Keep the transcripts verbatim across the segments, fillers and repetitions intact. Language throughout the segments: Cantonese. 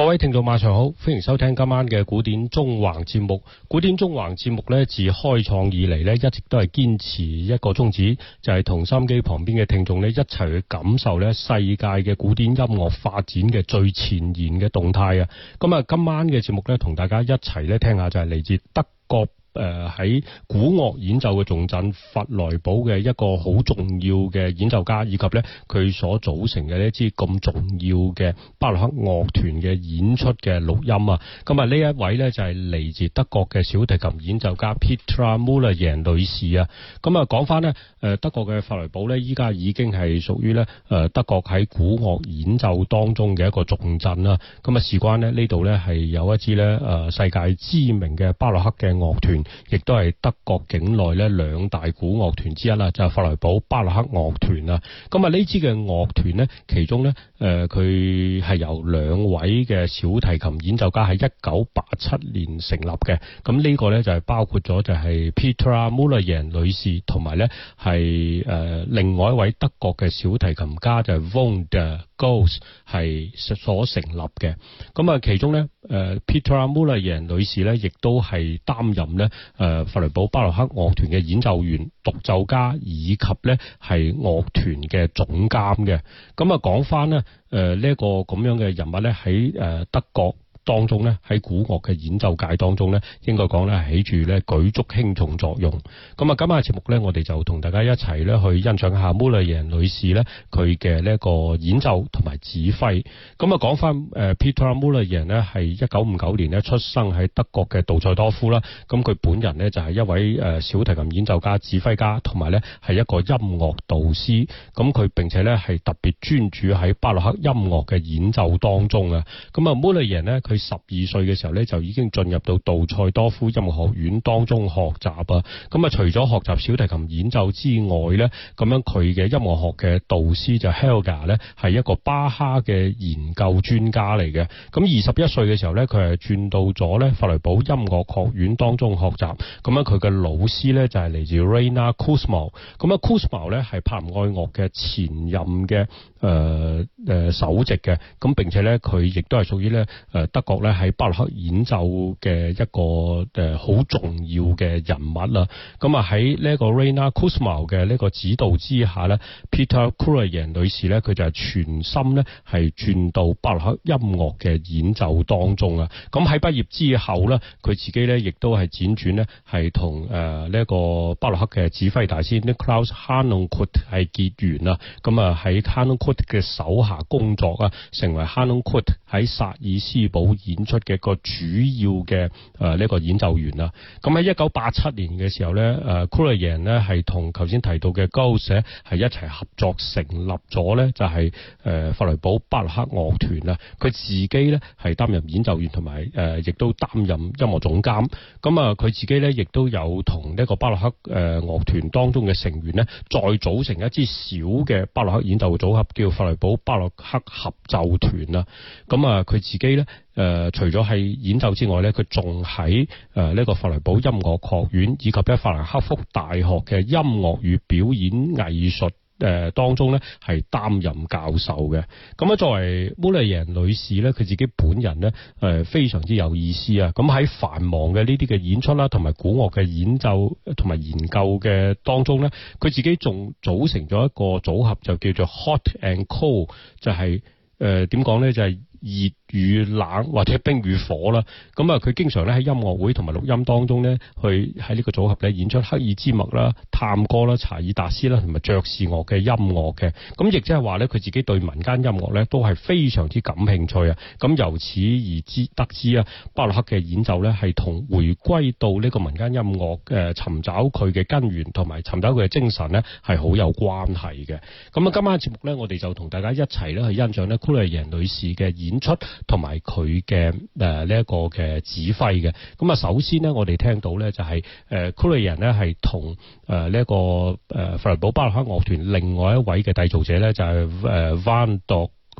各位聽眾晚上好，歡迎收聽今晚嘅古典縱橫節目。古典縱橫節目呢，自開創以嚟呢，一直都係堅持一個宗旨，就係同收音機旁邊嘅聽眾呢，一齊去感受呢世界嘅古典音樂發展嘅最前沿嘅動態啊！咁啊，今晚嘅節目呢，同大家一齊呢聽下就係嚟自德國。誒喺、呃、古樂演奏嘅重鎮弗萊堡嘅一個好重要嘅演奏家，以及咧佢所組成嘅呢支咁重要嘅巴洛克樂團嘅演出嘅錄音啊！咁啊呢一位咧就係、是、嚟自德國嘅小提琴演奏家 Petra Müllejans 女士啊！咁啊講翻呢，誒德國嘅弗萊堡咧，依家已經係屬於咧誒德國喺古樂演奏當中嘅一個重鎮啦。咁啊事關咧呢度咧係有一支咧誒世界知名嘅巴洛克嘅樂團。亦都係德國境內咧兩大古樂團之一啦，就係弗萊堡巴洛克樂團啊。咁啊呢支嘅樂團呢，其中呢，誒佢係由兩位嘅小提琴演奏家喺一九八七年成立嘅。咁呢個呢，就係包括咗就係 Petra Müllejans 女士，同埋呢係誒另外一位德國嘅小提琴家就係 von der Goltz 係所成立嘅。咁啊其中呢，誒 Petra Müllejans 女士呢，亦都係擔任呢。誒弗萊堡巴洛克樂團嘅演奏員、獨奏家以及咧係樂團嘅總監嘅。咁啊講翻咧誒呢一個咁樣嘅人物咧喺誒德國當中咧喺古樂嘅演奏界當中咧，應該講咧係起住咧舉足輕重作用。咁啊，今晚嘅節目咧，我哋就同大家一齊咧去欣賞一下 Müllejans 女士咧佢嘅呢一個演奏同埋指揮。咁啊，講翻誒 Petra Müllejans 咧係一九五九年咧出生喺德國嘅杜塞多夫啦。咁佢本人咧就係一位誒小提琴演奏家、指揮家，同埋咧係一個音樂導師。咁佢並且咧係特別專注喺巴洛克音樂嘅演奏當中啊。咁啊 Müllejans 咧佢佢十二歲嘅時候咧，就已經進入到杜塞多夫音樂學院當中學習啊。咁啊，除咗學習小提琴演奏之外咧，咁樣佢嘅音樂學嘅導師就 Helga 咧，係一個巴哈嘅研究專家嚟嘅。咁二十一歲嘅時候咧，佢係轉到咗咧弗萊堡音樂學院當中學習。咁樣佢嘅老師咧就係嚟自 Rainer Kussmaul。咁啊 Kussmaul 咧係柏林愛樂嘅前任嘅誒誒首席嘅。咁並且咧佢亦都係屬於咧誒德國咧喺巴洛克演奏嘅一個誒好重要嘅人物啦。咁啊喺呢一個 Rainer Kussmaul 嘅呢個指導之下咧 Petra Müllejans 女士咧佢就係全心咧係轉到巴洛克音樂嘅演奏當中啊。咁喺畢業之後咧，佢自己咧亦都係輾轉咧係同誒呢一個巴洛克嘅指揮大師 Nikolaus Harnoncourt 係結緣啊。咁啊喺 Harnoncourt 嘅手下工作啊，成為 Harnoncourt 喺薩爾斯堡演出嘅一個主要嘅誒呢個演奏員啦。咁喺一九八七年嘅時候咧，誒 Müllejans 咧係同頭先提到嘅 Goltz 係一齊合作成立咗咧，就係誒弗萊堡巴洛克樂團啦。佢自己咧係擔任演奏員同埋誒亦都擔任音樂總監。咁啊，佢自己咧亦都有同呢個巴洛克誒樂團當中嘅成員咧，再組成一支小嘅巴洛克演奏組合，叫弗萊堡巴洛克合奏團啦。咁啊，佢自己咧。誒、呃，除咗係演奏之外咧，佢仲喺誒呢個弗萊堡音樂學院以及喺法蘭克福大學嘅音樂與表演藝術誒、呃、當中咧係擔任教授嘅。咁啊，作為 Müllejans 女士咧，佢自己本人咧誒、呃、非常之有意思啊！咁喺繁忙嘅呢啲嘅演出啦，同埋古樂嘅演奏同埋研究嘅當中咧，佢自己仲組成咗一個組合，就叫做 Hot and Cold， 就係誒點講咧，就係、是。熱與冷或者冰與火啦，咁啊佢經常咧喺音樂會同埋錄音當中咧，去喺呢個組合咧演出赫爾茲默啦、探戈啦、查爾達斯啦同埋爵士樂嘅音樂嘅，咁亦即係話咧佢自己對民間音樂咧都係非常之感興趣啊！咁由此而知得知啊，巴洛克嘅演奏咧係同回歸到呢個民間音樂誒尋找佢嘅根源同埋尋找佢嘅精神咧係好有關係嘅。咁啊，今晚嘅節目咧，我哋就同大家一齊咧去欣賞咧 Müllejans 女士嘅演出同埋佢嘅誒呢一個嘅指揮嘅。咁啊，首先呢，我哋聽到咧就係誒 Müllejans 咧係同誒呢一個誒弗萊堡巴洛克樂團另外一位嘅締造者咧就係誒 von der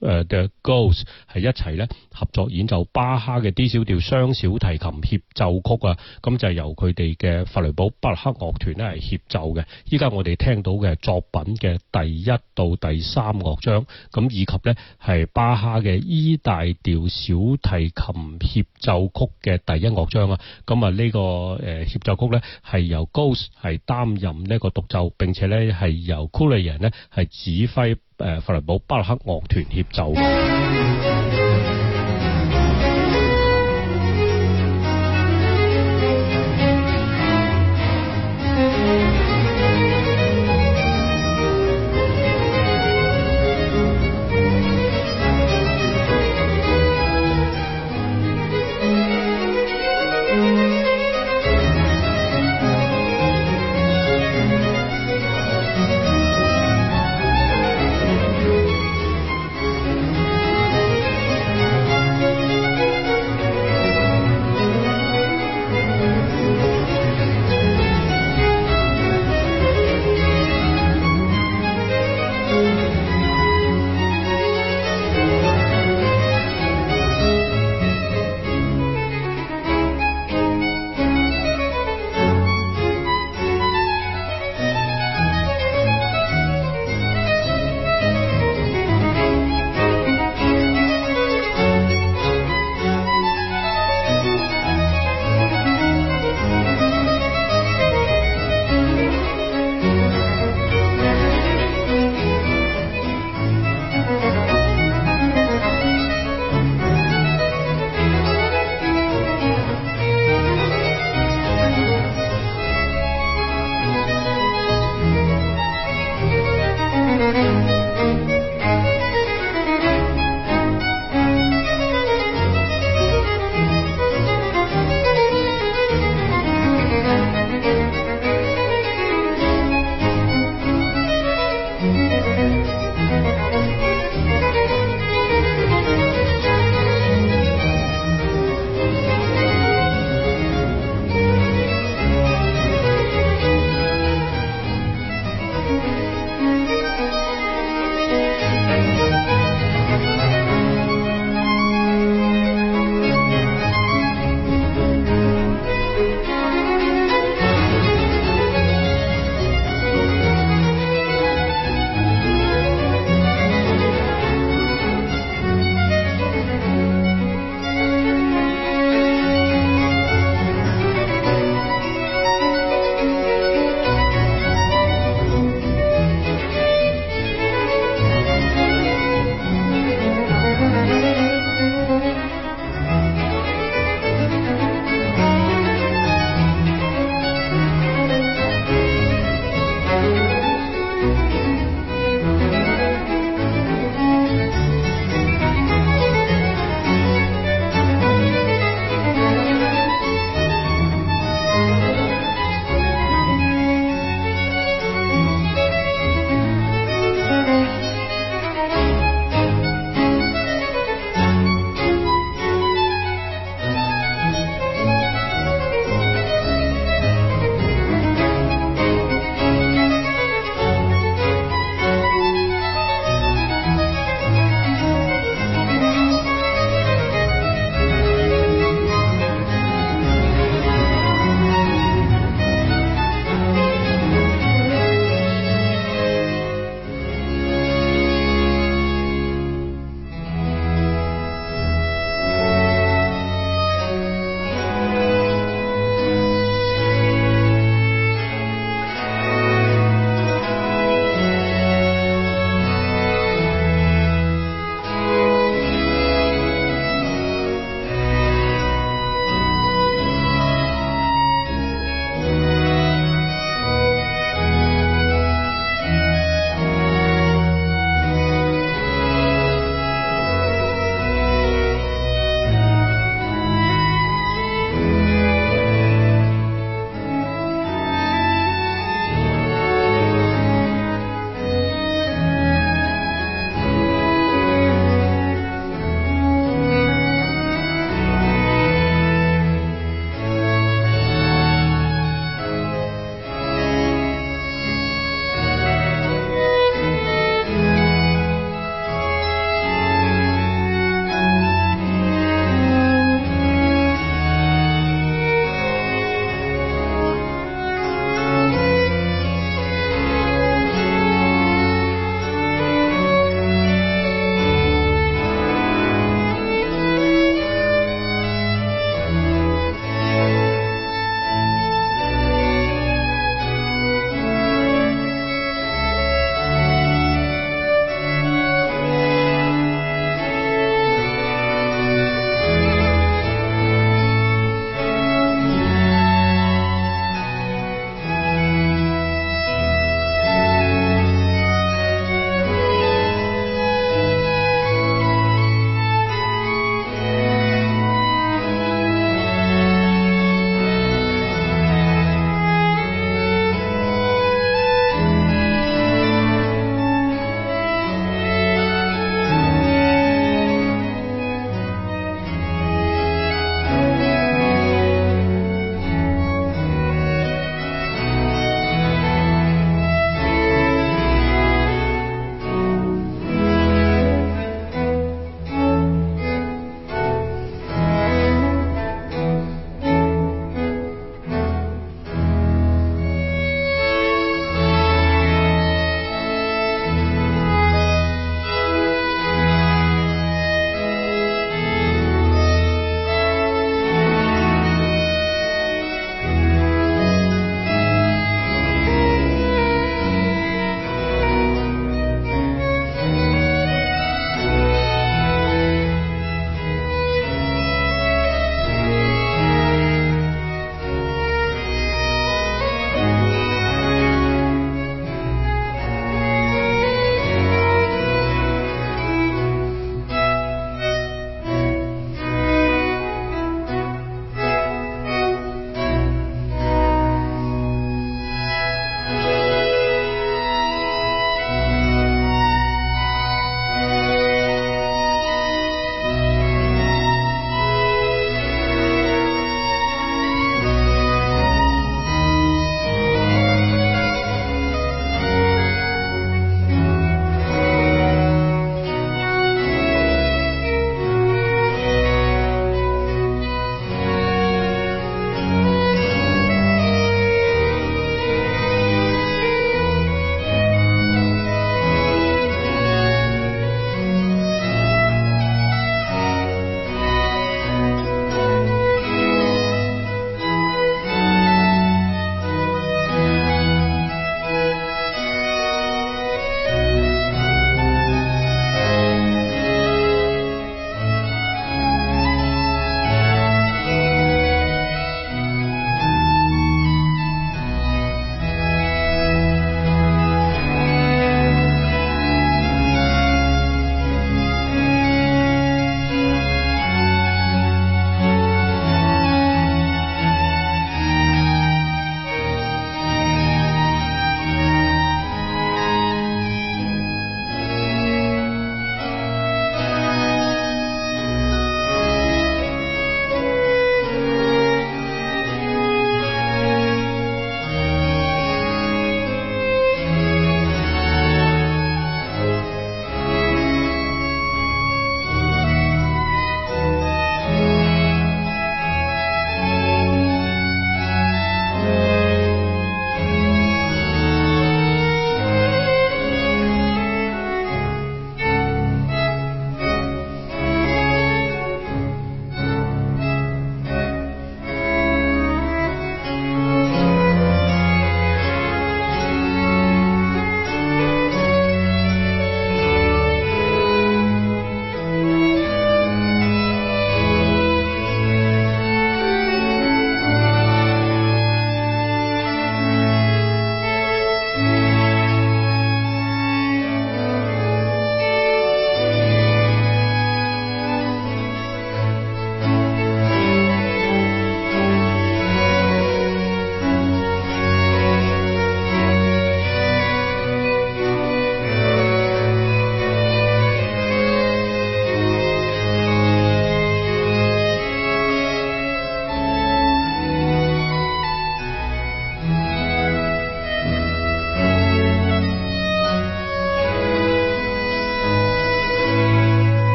誒 The Ghost 係一齊咧合作演奏巴哈嘅 D 小調雙小提琴協奏曲啊，咁就係由佢哋嘅弗雷堡巴洛克樂團咧係協奏嘅。依家我哋聽到嘅作品嘅第一到第三樂章，咁以及咧係巴哈嘅 E 大調小提琴協奏曲嘅第一樂章啊，咁啊呢個誒協奏曲咧係由 Ghost 係擔任呢個獨奏，並且咧係由 Kuluyan 咧係指揮誒弗雷堡巴洛克樂團協奏嘅。